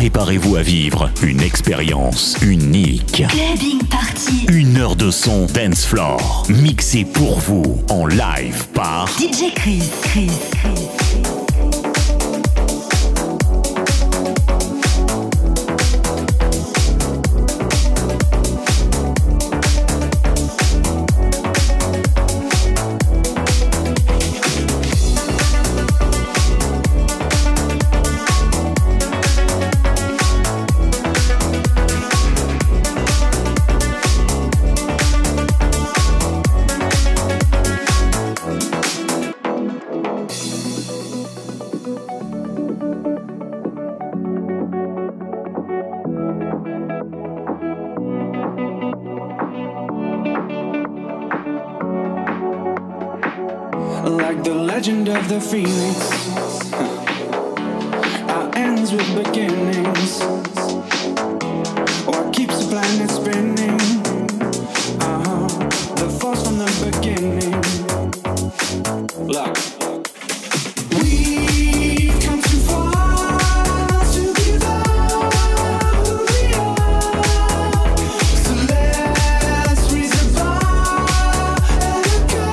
Préparez-vous à vivre une expérience unique. Clubbing Party. 1 heure de son dance floor, mixé pour vous en live par DJ Chris. Like the legend of the phoenix, our ends with beginnings. What keeps the planet spinning? The force from the beginning. Look, we've come too far to give up who we are. So let's raise the bar and go.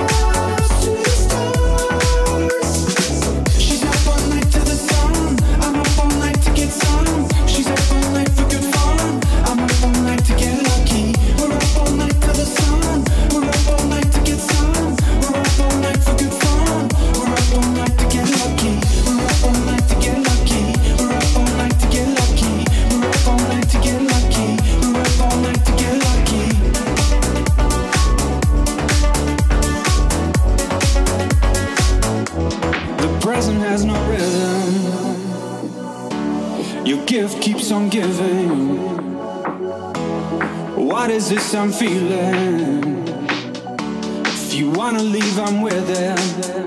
She's up all night to the sun. I'm up all night to get some. She's up all night for good fun. I'm up all night to get lucky. We're up all night to the sun. We're up all night to get some. We're up all night for good fun. We're up all night to get lucky. We're up all night to get lucky. We're up all night to get lucky. We're up all night to get lucky. We're up all night to get lucky. The present has no rhythm. Your gift keeps on giving. What is this I'm feeling? If you wanna leave, I'm with it.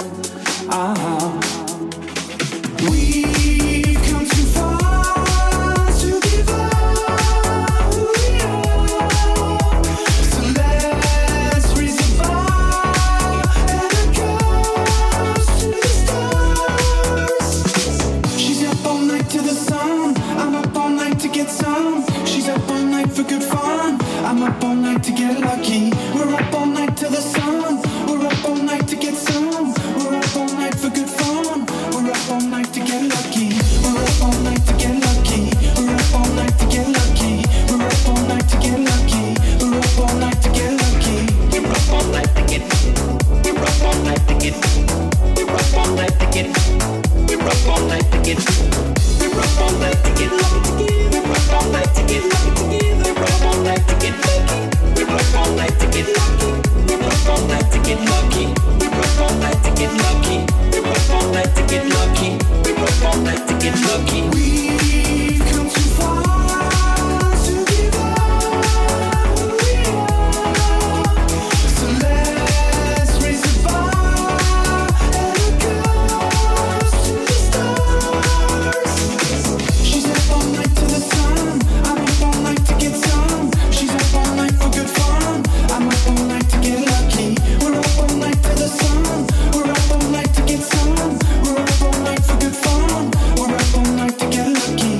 We've come too far to give up who we are. So let's raise the bar and go to the stars. She's up all night to the sun. I'm up all night to get some. She's up all night for good fun. I'm up all night to get lucky. We're up all night to the sun. We're up all night to get some. We're up all night for good fun. We're up all night to get lucky. We're up all night to get lucky. We're up all night to get lucky. We're up all night to get lucky. We're up all night to get lucky. We're up all night to get. We're up all night to get. We're up all night to get. We're up all night to get. We're up all night to get lucky. We're up all night to get lucky. We're up all night to get lucky. We're up all night to get lucky. We're up all night to get lucky. We're up all night to get lucky. We're up all night to get lucky. We're up all night to get lucky. We've come too far to give up who we are. So let's raise the bar and go to the stars. She's up all night to the sun. I'm up all night to get some. She's up all night for good fun. I'm up all night to get lucky. We're up all night to the sun. We're up all night to get some. We're up all night for good fun. We're up all night to get lucky.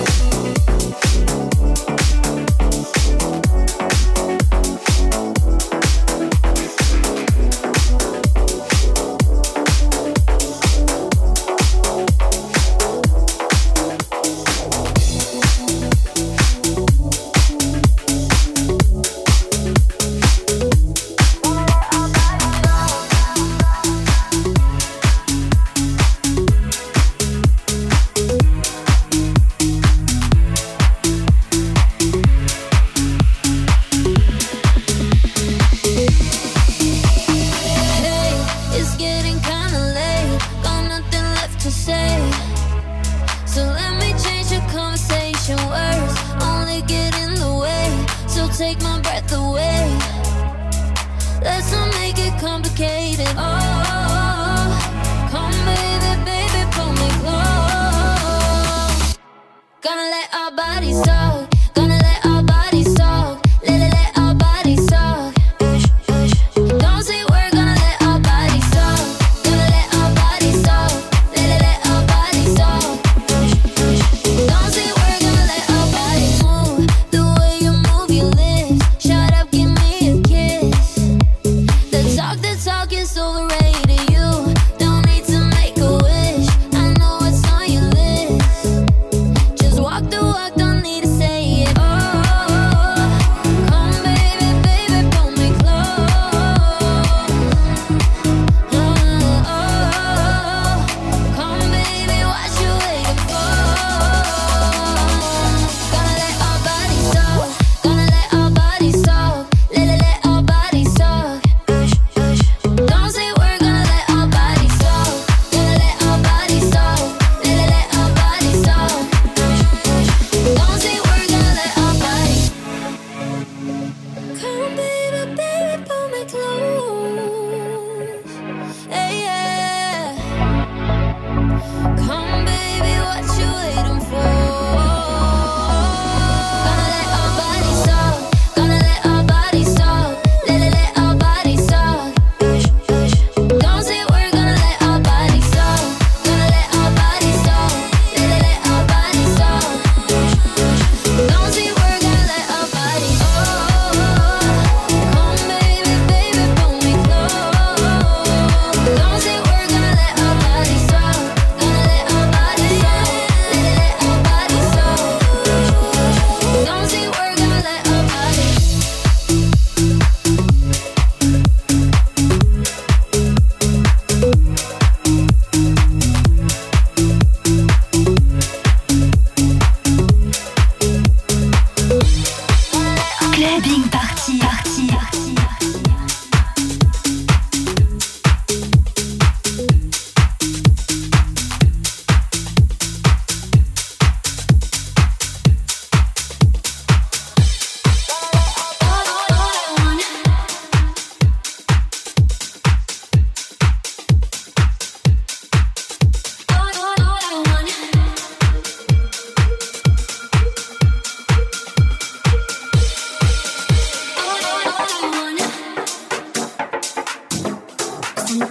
Hey, it's getting kinda late. Got nothing left to say. So let me change the conversation. Words only get in the way. So take my breath away. Let's not make it complicated. Oh, come baby, baby, pull me close. Gonna let our bodies talk. Gonna let our bodies talk. Let our bodies talk. Don't say we're gonna let our bodies talk. Gonna let our bodies talk. Let our bodies talk. Don't say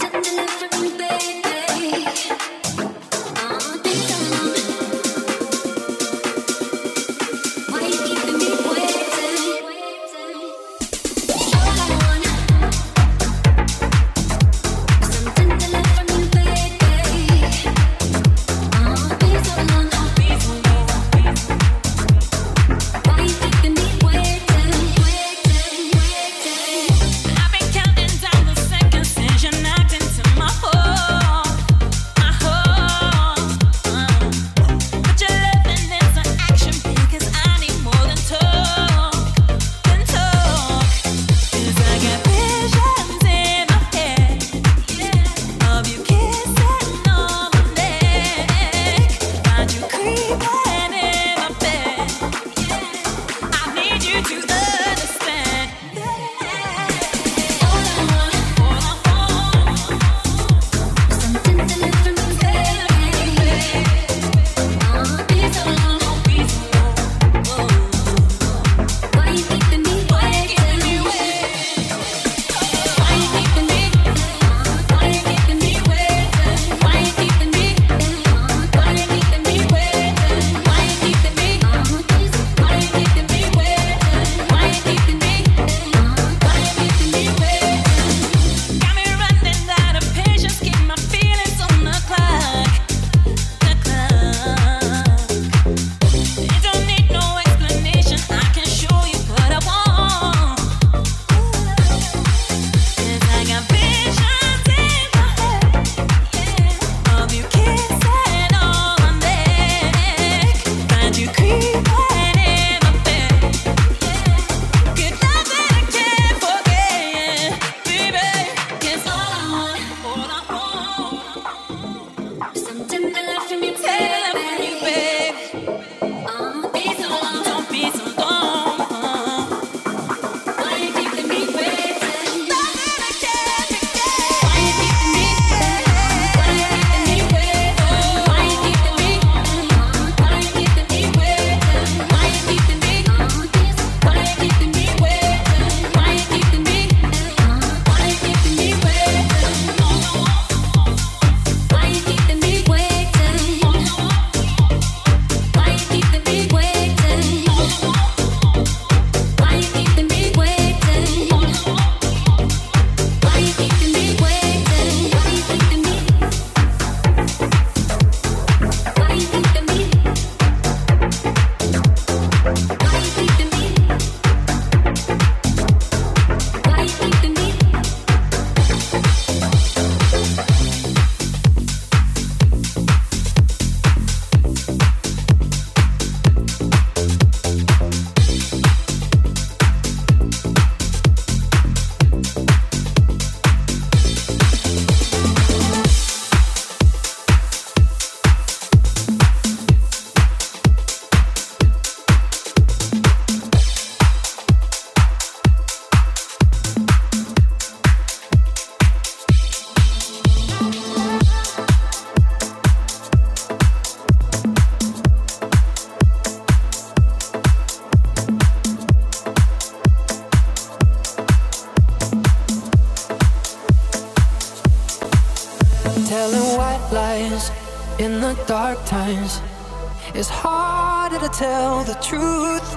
in the dark times. It's harder to tell the truth.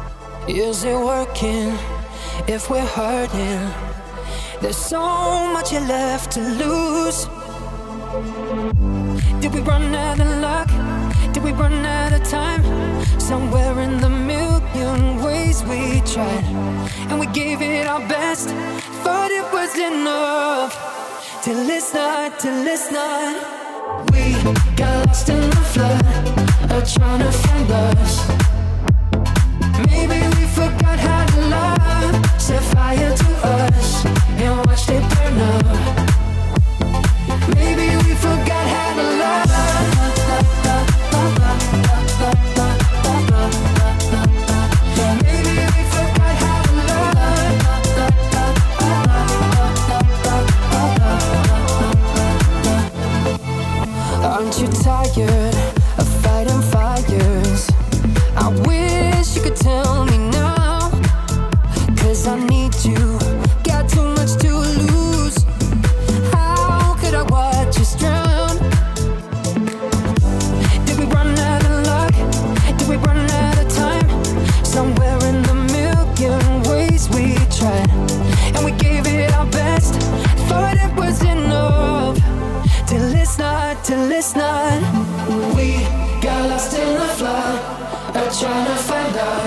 Is it working if we're hurting? There's so much left to lose. Did we run out of luck? Did we run out of time? Somewhere in the million ways we tried, and we gave it our best, thought it was enough. Till it's not, till it's not. We got lost in the flood of trying to find us. Maybe we forgot how to love. Set fire to us and watched it burn up. Maybe we forgot how to love. Maybe we forgot how to love. Aren't you tired of fighting fires? I wish you could tell me now, 'cause I need you, got too much to lose. How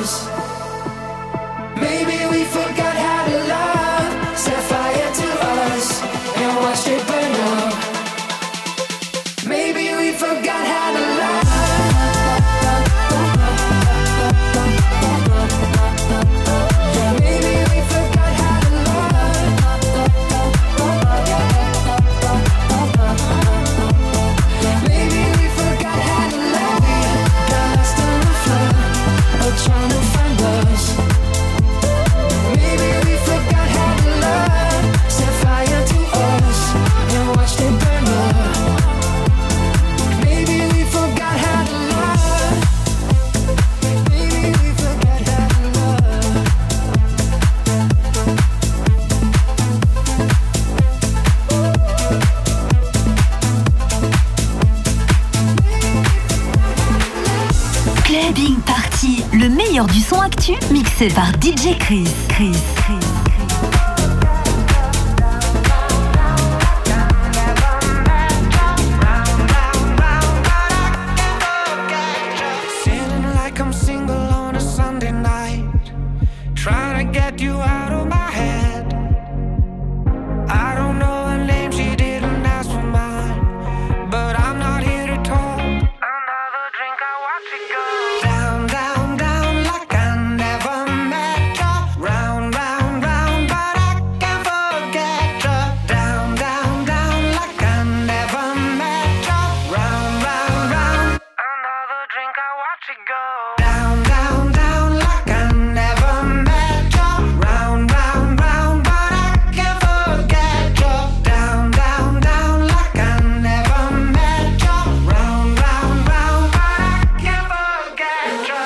us. Maybe we forgot how to love. Set fire to us and watched it burn up. Maybe we forgot how to love. Maybe we forgot how to love. Maybe we forgot how to love. Got lost on the floor, or trying to find us. Maybe we forgot how to love. Set fire to us and watched it burn up. Maybe we forgot how to love. Maybe we forgot how to love. Clubbing Party, le meilleur du son actu, mixé par DJ Chris. Feeling like I'm single on a Sunday night, trying to get you out of my head. I don't know her name, she didn't ask for mine, but I'm not here to talk. Another drink, I watch it go down, down, down, like I never met ya. Round, round, round, but I can't forget ya. Down, down, down, like I never met ya. Round, round, round. Another drink, I watch it go down, down, down, like I never met ya. Round, round, round, but I can't forget ya. Down, down, down, like I never met ya. Round, round, round, but I can't forget ya.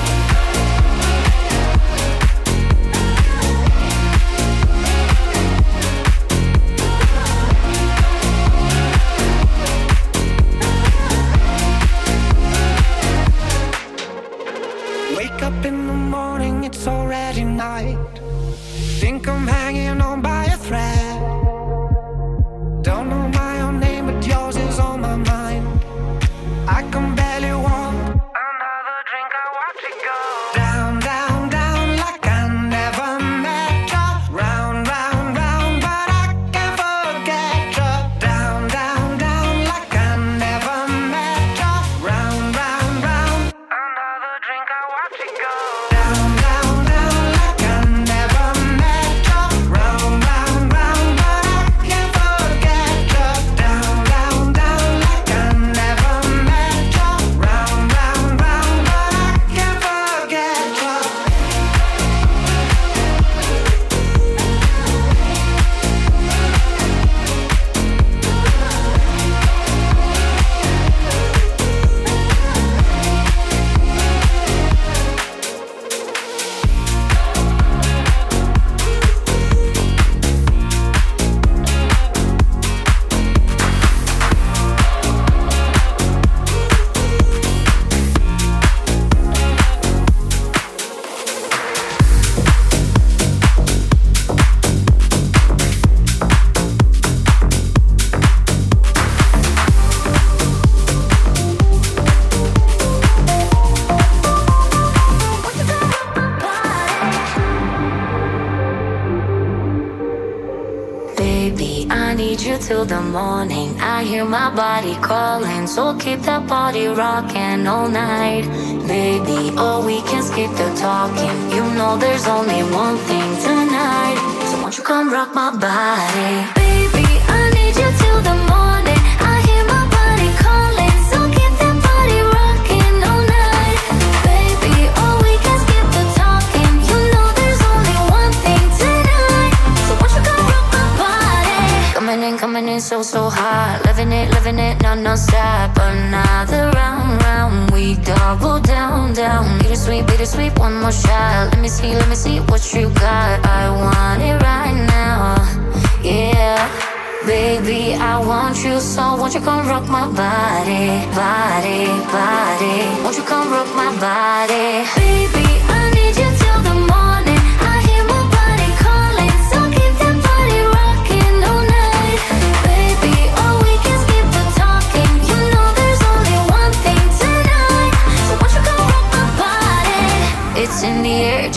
Wake up in the morning, it's already night. Think I'm hanging on by a thread. Don't know my own name, but yours is on my mind. I can barely walk. Another drink, I watch it go down, down, down, like I never met ya. Round, round, round, but I can't forget ya. Down, down, down, like I never met ya. Round, round, round. Another drink, I watch it go down, down, down, like I never met ya. Round, round, round, but I can't forget ya. Down, down, down, like I never met ya. Round, round, round, but I can't forget ya. Baby, I need you till the morning. I hear my body calling, so keep that body rocking all night. Baby, oh, we can skip the talking. You know there's only one thing tonight. So won't you come rock my body? Baby, I need you till the morning. I hear my body calling, so keep that body rocking all night. Baby, oh, we can skip the talking. You know there's only one thing tonight. So won't you come rock my body? Coming in so hot. Living it, non-stop. Another round, we double down. Bittersweet, one more shot. Let me see what you got. I want it right now, yeah. Baby, I want you, so won't you come rock my body. Won't you come rock my body? Baby, I need you till the morning. I hear my body calling, so keep that body rocking all night. Baby, oh, we can skip the talking. You know there's only one thing tonight. So won't you come rock my body? It's in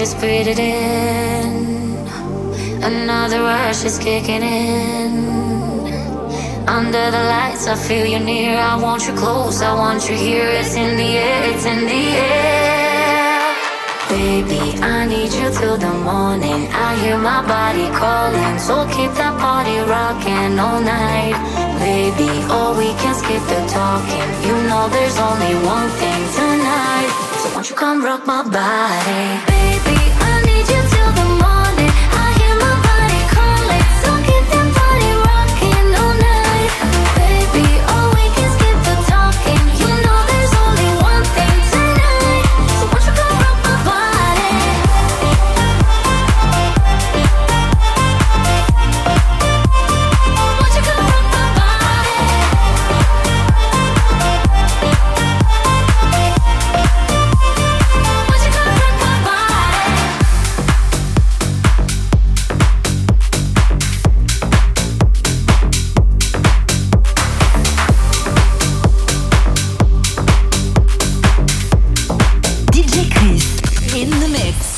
just breathe it in. Another rush is kicking in. Under the lights, I feel you near. I want you close, I want you here. It's in the air, it's in the air. Baby, I need you till the morning. I hear my body calling, so keep that body rocking all night. Baby, or we can skip the talking. You know there's only one thing tonight. So won't you come rock my body? Baby, I need you till the morning. I hear my body calling, so keep that body rocking all night. Baby, or we can skip the talking. You know there's only one thing tonight. So won't you come rock my body? Won't you come rock my body? Won't you come rock my body? DJ Chris in the mix.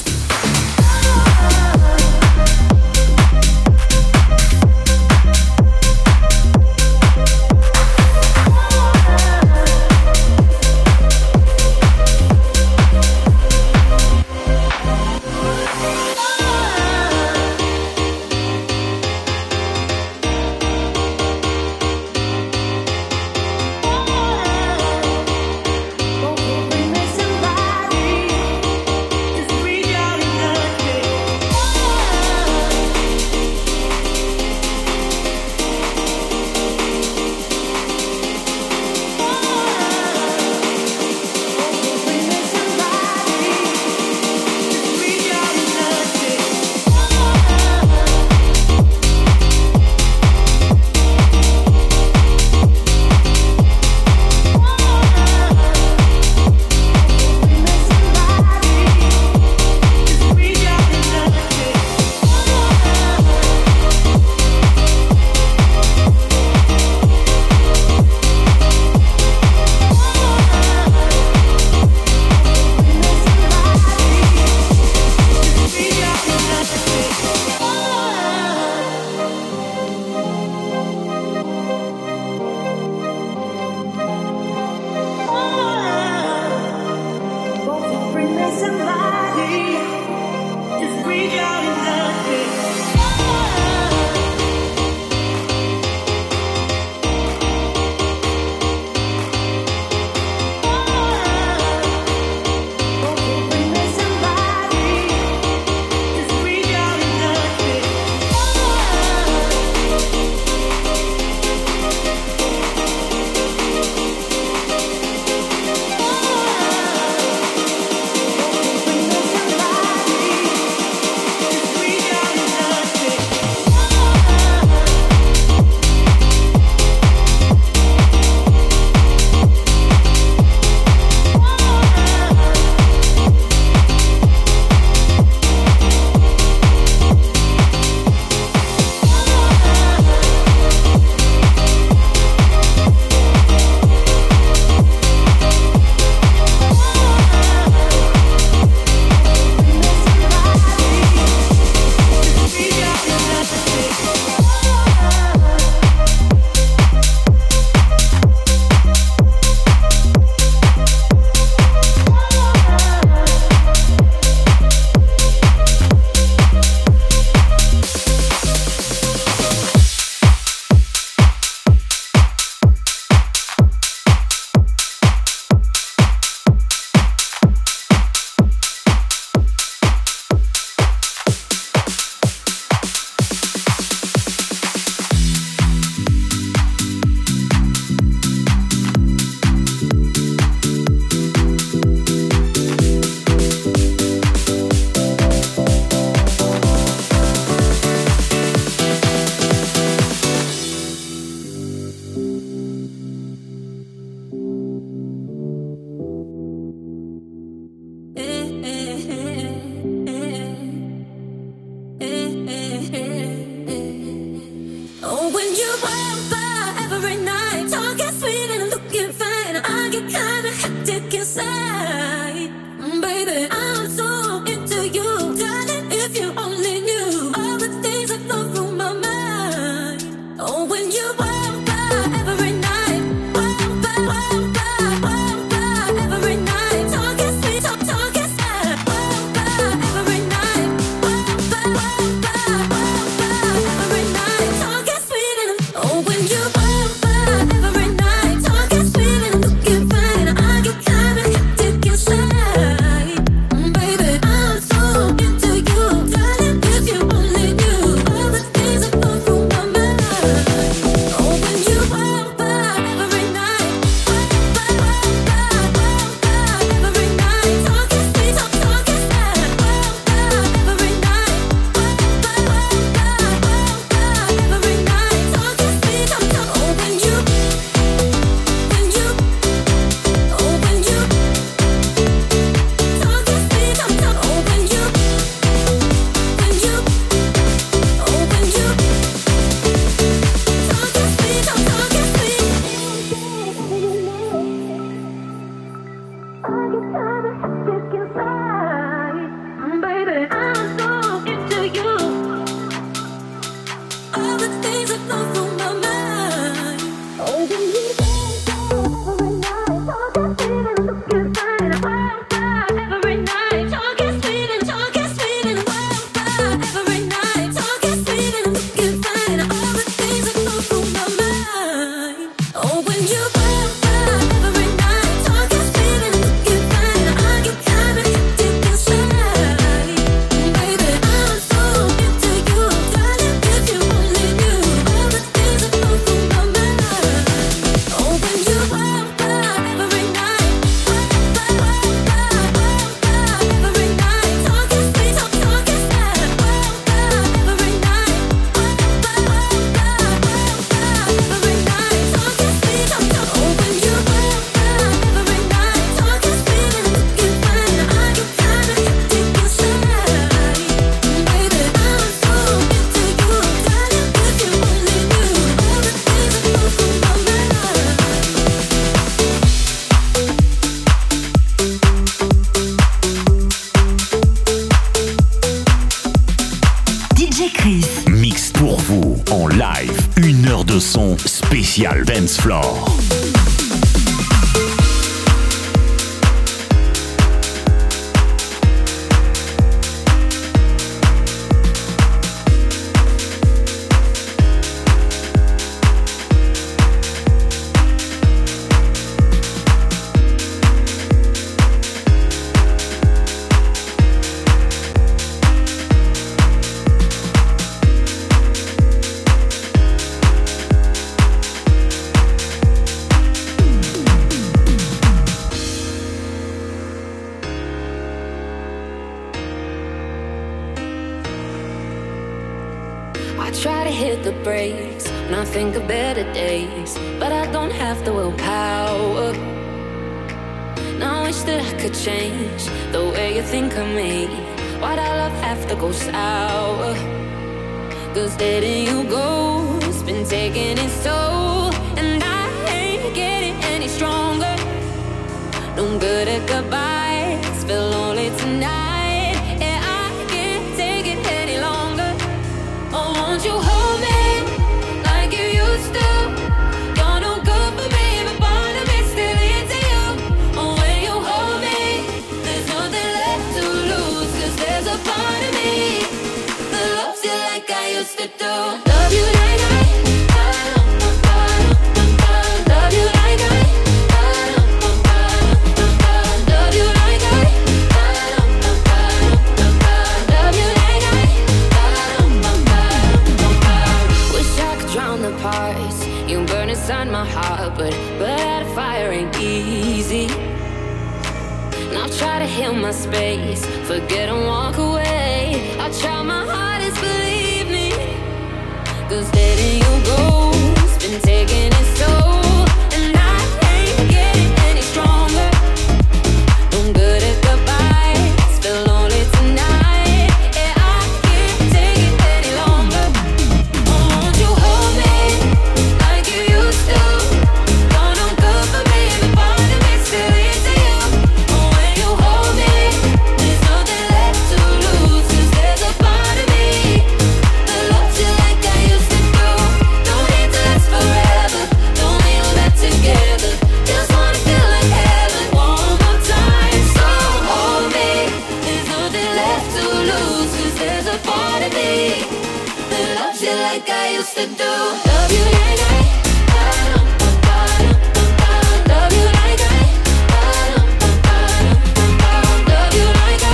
inside. Baby, I'm so into you. spécial Dance Floor. Try to hit the brakes when I think of better days, but I don't have the willpower. Now I wish that I could change the way you think of me. Why'd our love have to go sour? Cause letting you go's been taking its toll, and I ain't getting any stronger. No good at goodbyes, feel lonely tonight. Won't you hold me like you used to? You're no good for me, but part of me still into you. Oh, when you hold me, there's nothing left to lose. Cause there's a part of me that loves you like I used to do. Love you like love you like love you like the parts you burn inside my heart, but that fire ain't easy. And I'll try to heal my space, forget and walk away. I'll try my hardest, believe me. Cause letting you go's been taking its toll, and I ain't getting any stronger. No good at goodbyes, feel lonely tonight. Yeah, I can't take it any longer. Won't you hold me like you used to? You're no good for me, but part of me still into you. Oh, when you hold me, there's nothing left to lose. Cause there's a part of me that loves you like I used to do. Don't need to last forever, don't need all that together. Just wanna feel like heaven one more time. So hold me, there's nothing left to lose. Cause there's a part of me that loves you like I used to do. Love you like love you like love you like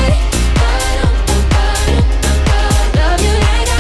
love you like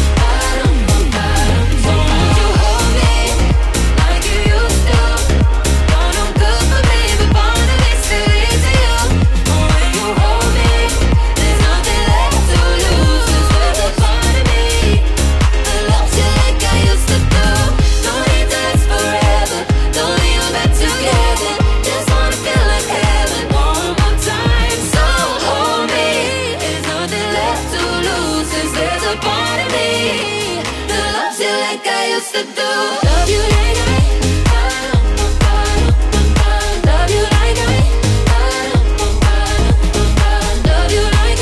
so won't you hold me like you used to? You're no good for me, but part of me still into you. Oh, when you hold me, there's nothing left to lose. Cause there's a part of me that loves you like I used to do. Don't need to last forever, don't need all that together. Just wanna feel like heaven one more time. So hold me, there's nothing left to lose. Cause there's a part of me that loves you like I used to do. Love you like love you like love you like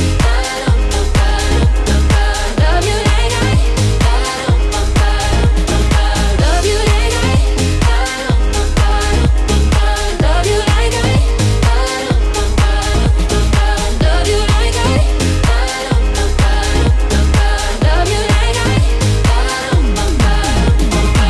love you like love you like love you like love you like love you like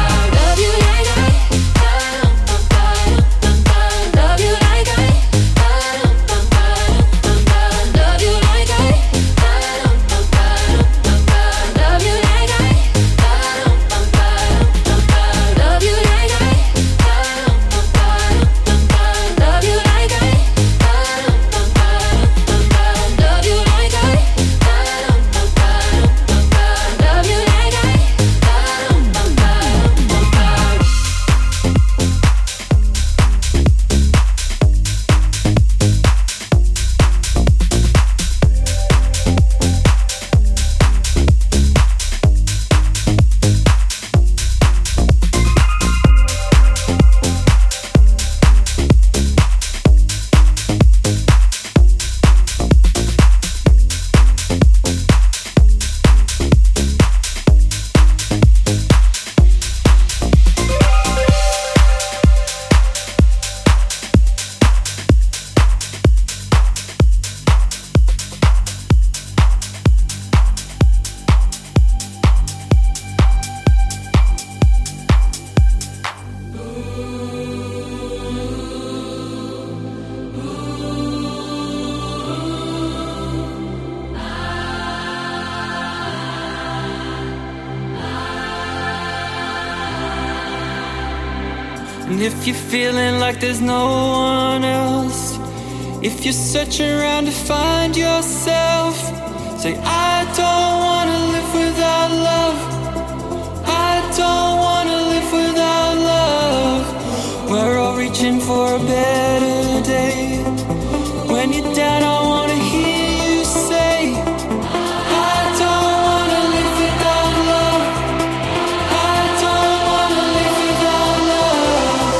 And if you're feeling like there's no one else, if you're searching around to find yourself, say, I don't wanna live without love. I don't wanna live without love. We're all reaching for a better day. When you're down, I wanna hear you say, I don't wanna live without love. I don't wanna live without love.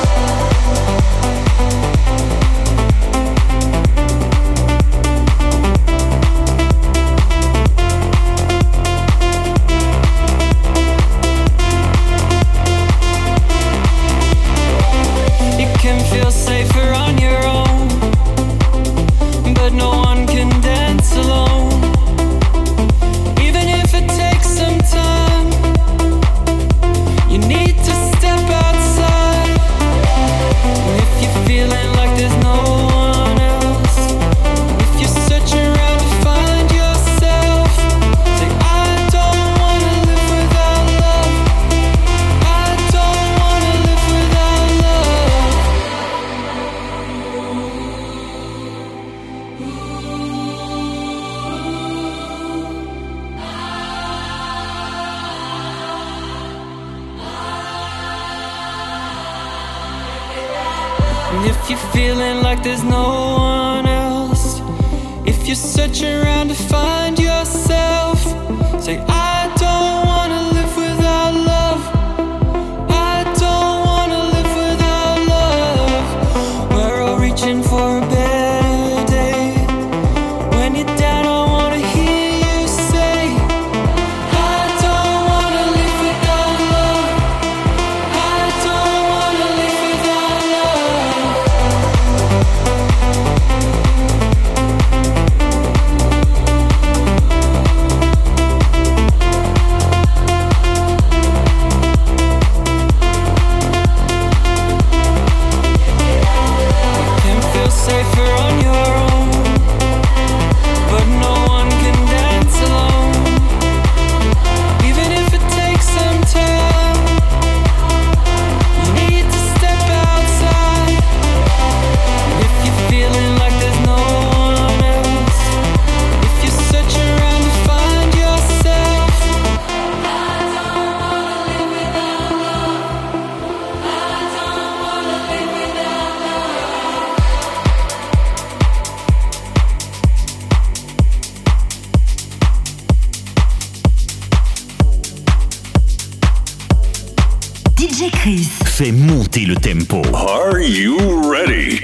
You can feel safer on your own, but no one can dance alone. Even if it takes some time, you need to step outside. And if you're feeling like there's no one else, if you're searching around to find yourself, say, I don't wanna live without love. I don't wanna live without love. And if you're feeling like there's no one else, if you're searching around to find yourself, say, I don't wanna live without love. I don't wanna live without love. We're all reaching for a better day. When you're down, I wanna hear you say, I don't wanna live without love. I don't wanna live without love. Can feel safer on your own, but no one can dance alone. Even if it takes some time, you need to step outside. And if you're feeling like there's no one else, if you're searching around to find yourself, I don't wanna live without love. I don't wanna live without love. DJ Chris. Fais monter le tempo. Are you ready?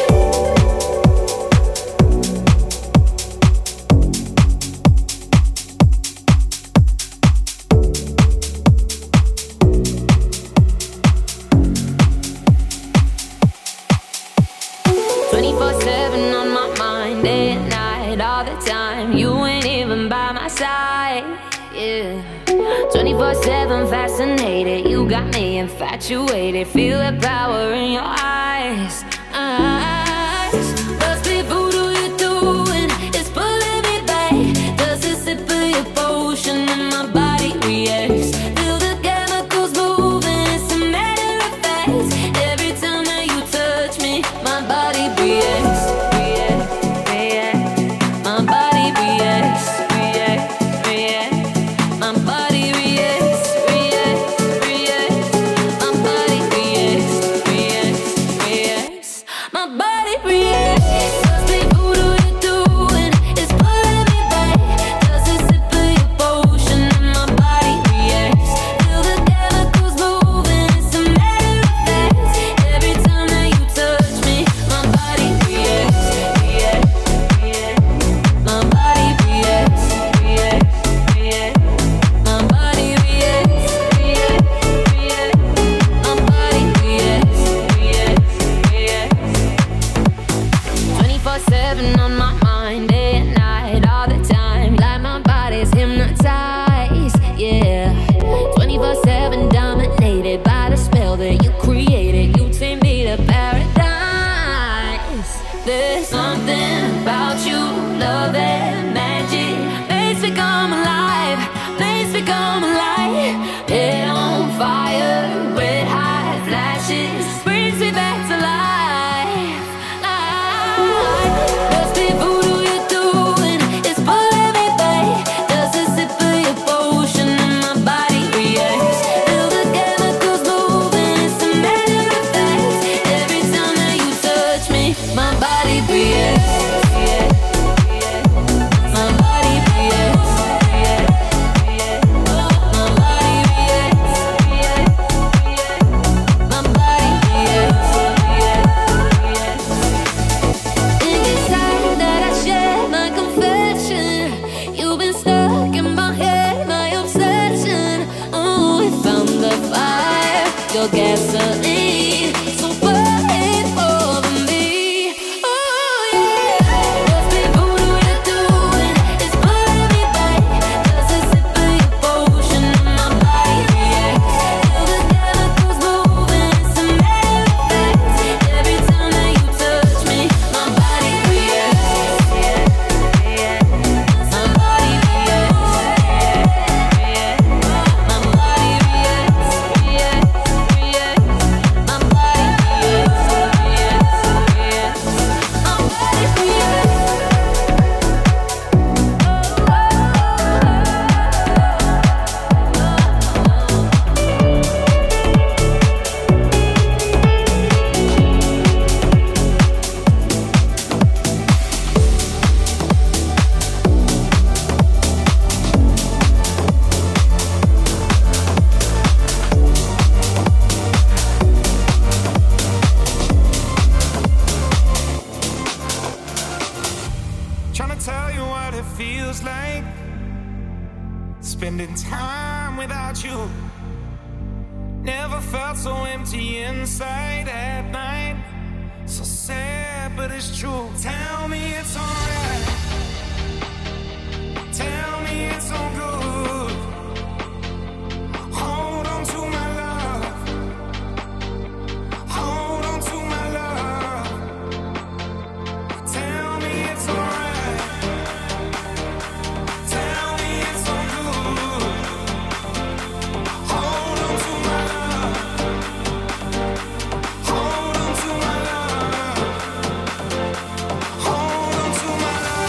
On my mind, day and night, all the time. You ain't even by my side, yeah. 24/7 fascinated, you got me infatuated. Feel the power in your eyes. Must be voodoo you're doing, it's pulling me back. Does a sip of your potion and my body reacts? Feel the chemicals moving, it's a matter of fact. Every time that you touch me, my body reacts. My body reacts, my body reacts, my body reacts, my body reacts. Must be voodoo you're doing, it's pulling me back. Does a sip of your potion and my body reacts? Feel the chemicals moving, it's a matter of fact. promise brings me back to life. Must be voodoo you're doing, it's pulling me back. Does a sip of your potion and my body reacts? Feel the chemicals moving, it's a matter of fact. Every time that you touch me, my body reacts. My body reacts. My body reacts. My body reacts. Think it's time that I share my confession. You've been stuck in my head, my obsession. Oh, we found the fire, your gasoline. So burn it over me. Oh yeah. Must be voodoo you're doing, it's pulling me back. Does a sip of your potion and my body reacts? Feel the chemicals moving, it's a matter of fact. Every time that you touch me, my body reacts. My body reacts. My body reacts. My body Trying to tell you what it feels like spending time without you. Never felt so empty inside at night. So sad, but it's true. Tell me it's alright. Tell me it's all good. Hold on to my love. Hold on to my love. Tell me it's alright. Tell me it's all good. Hold on to my love. Hold on to my love. Hold on to my love.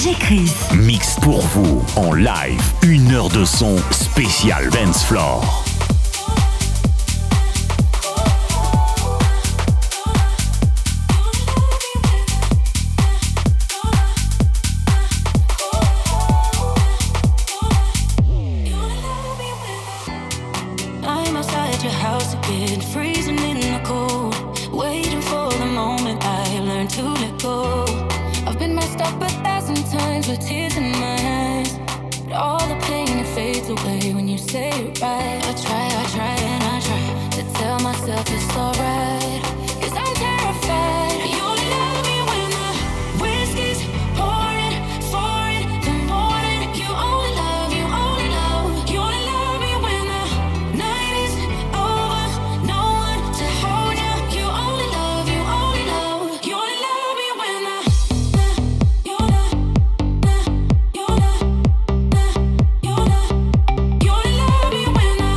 DJ Chris. Mix pour vous en live. 1 heure de son spécial Dance Floor. I'm outside your house again, freezing in the cold, waiting for the moment I learn to let go. I've been messed up 1,000 times with tears in my eyes, but all the pain it fades away when you say it right. I try and I try to tell myself it's alright, 'cause I'm terrified. You only love me when the whiskey's pouring, foreign, the morning. You only love, you only love, you only love me when the night is over, no one to hold you. You only love, you only love, you only love me when the you only love me when the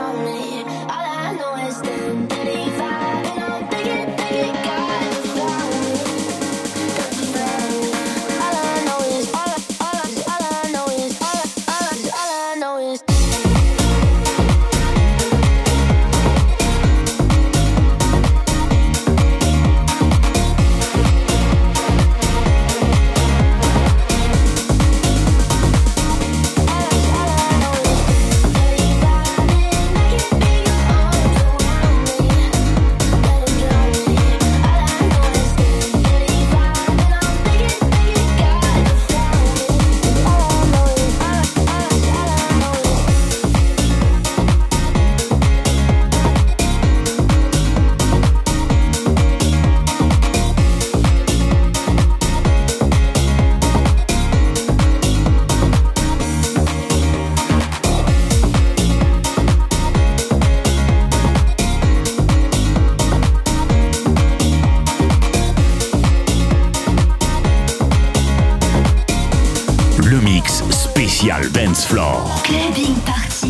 around me. All I know is 10:35, and I'm thinking, God has found me. All I know is, all I know is, all I know is. Spécial Dance Floor. Clubbing Party.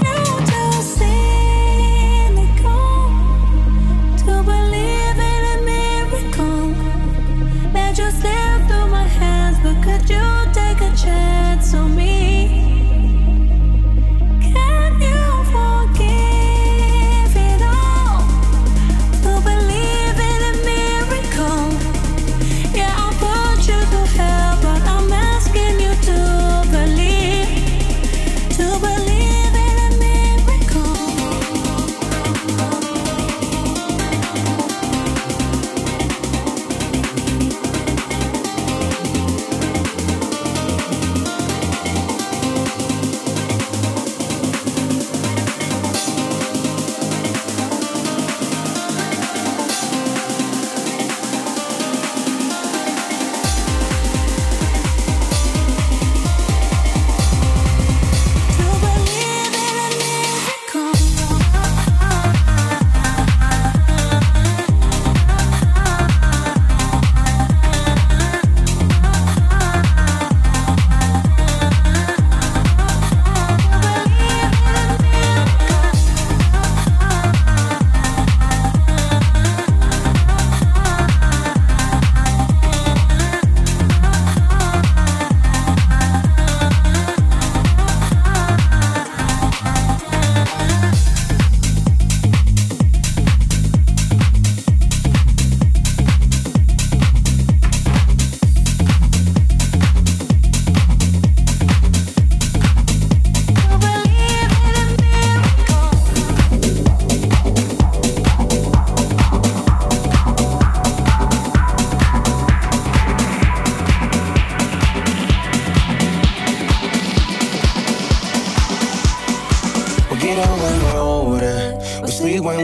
To believe in a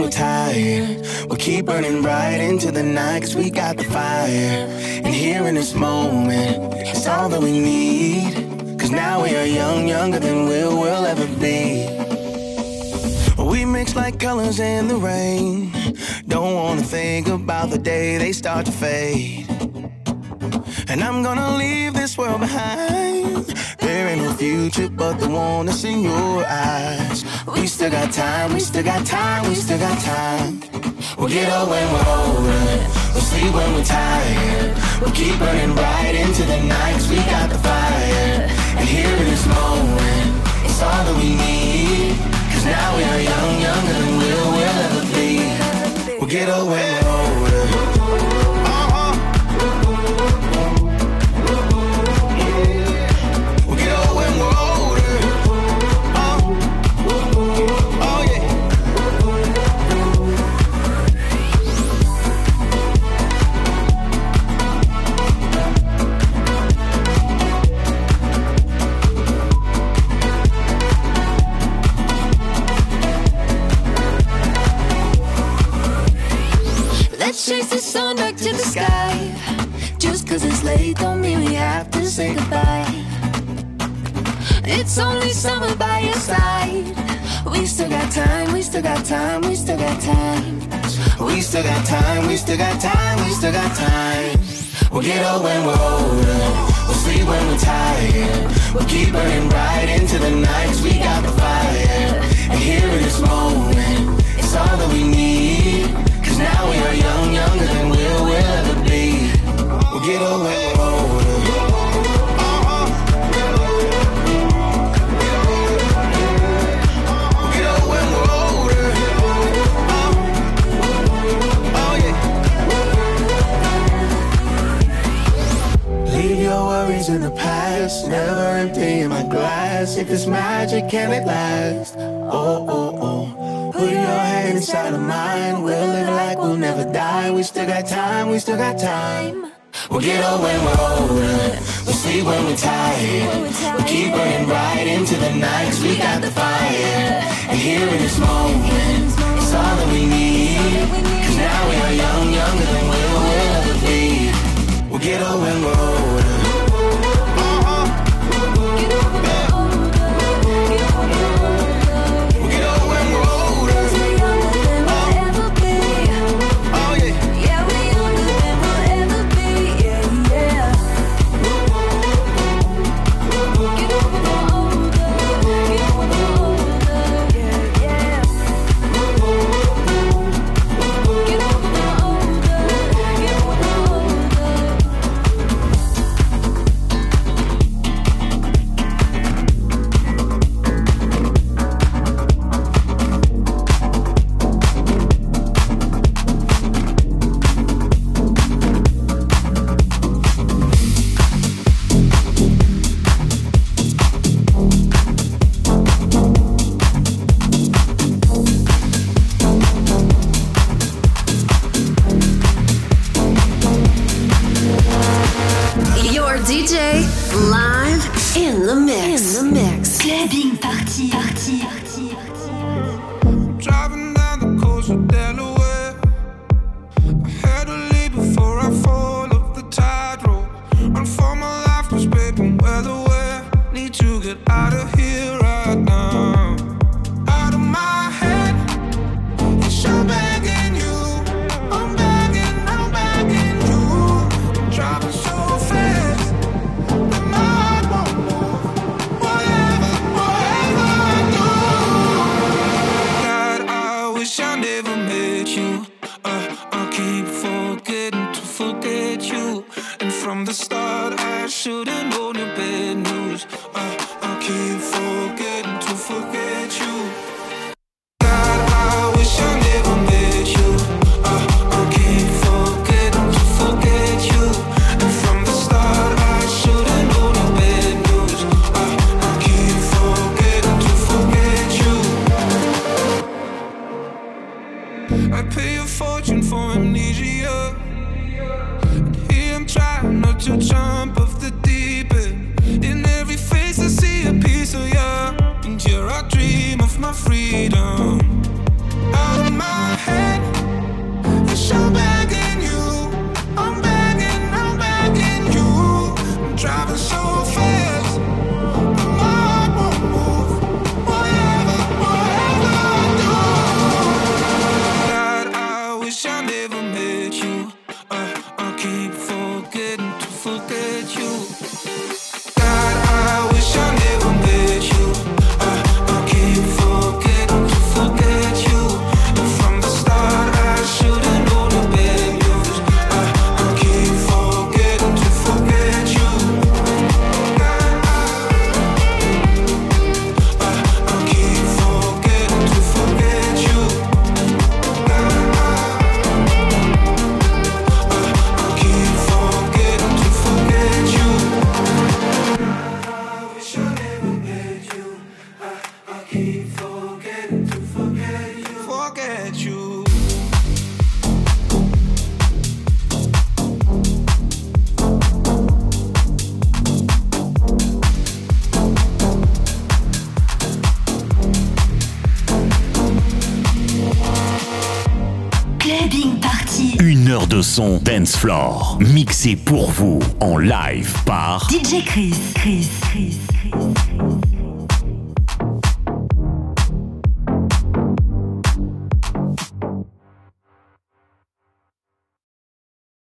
we're tired, we'll keep burning right into the night, 'cause we got the fire. And here in this moment, it's all that we need, 'cause now we are young, younger than we'll ever be. We mix like colors in the rain. Don't wanna think about the day they start to fade. And I'm gonna leave this world behind. There ain't no future but the one that's in your eyes. We still got time, we still got time, we still got time. We'll get old when we're older, we'll sleep when we're tired. We'll keep burning right into the night, 'cause we got the fire. And here in this moment, it's all that we need, 'cause now we are young, younger than we'll ever be. We'll get old when we're older. Let's chase the sun back to the sky. Just 'cause it's late don't mean we have to say goodbye. It's only summer by your side. We still got time, we still got time, we still got time. We still got time, we still got time, we still got time. We'll get old when we're older, we'll sleep when we're tired. We'll keep burning right into the night, 'cause we got the fire. And here in this moment, it's all that we need, 'cause now we are young, younger than we'll ever be. We'll get old when we're older. We'll get old when we're older. Oh yeah. Leave your worries in the past, never emptying my glass. If it's magic, can it last? Oh, oh, oh. Put your hand inside of mine, we'll live like we'll never die. We still got time, we still got time. We'll get old when we're older, we'll sleep when we're tired. We'll keep burning right into the night, 'cause we got the fire. And here in this moment, it's all that we need, 'cause now we are young, younger than we'll ever be. We'll get old when we're older. Clubbing party. Driving down the coast of Delaware. I had to leave before I fall off the tide road. Run for my life, 'cause baby, weather where need to get out of here right now. Out of my head, yes, I'm begging you. I'm begging you. Driving so fast that my heart won't move. Whatever I do. God, I wish I never met you. I keep forgetting to forget you. And from the start, I should've known your bad news. I keep forgetting to forget you. God, I wish I never met you. I keep forgetting to forget you. And from the start, I should've known your bad news. I keep forgetting to forget you. I pay a fortune for amnesia. And here I'm trying not to jump off the deep end. In every face I see a piece of you. And here I dream of my freedom. Out of my heure de son dance floor, mixé pour vous en live par DJ Chris.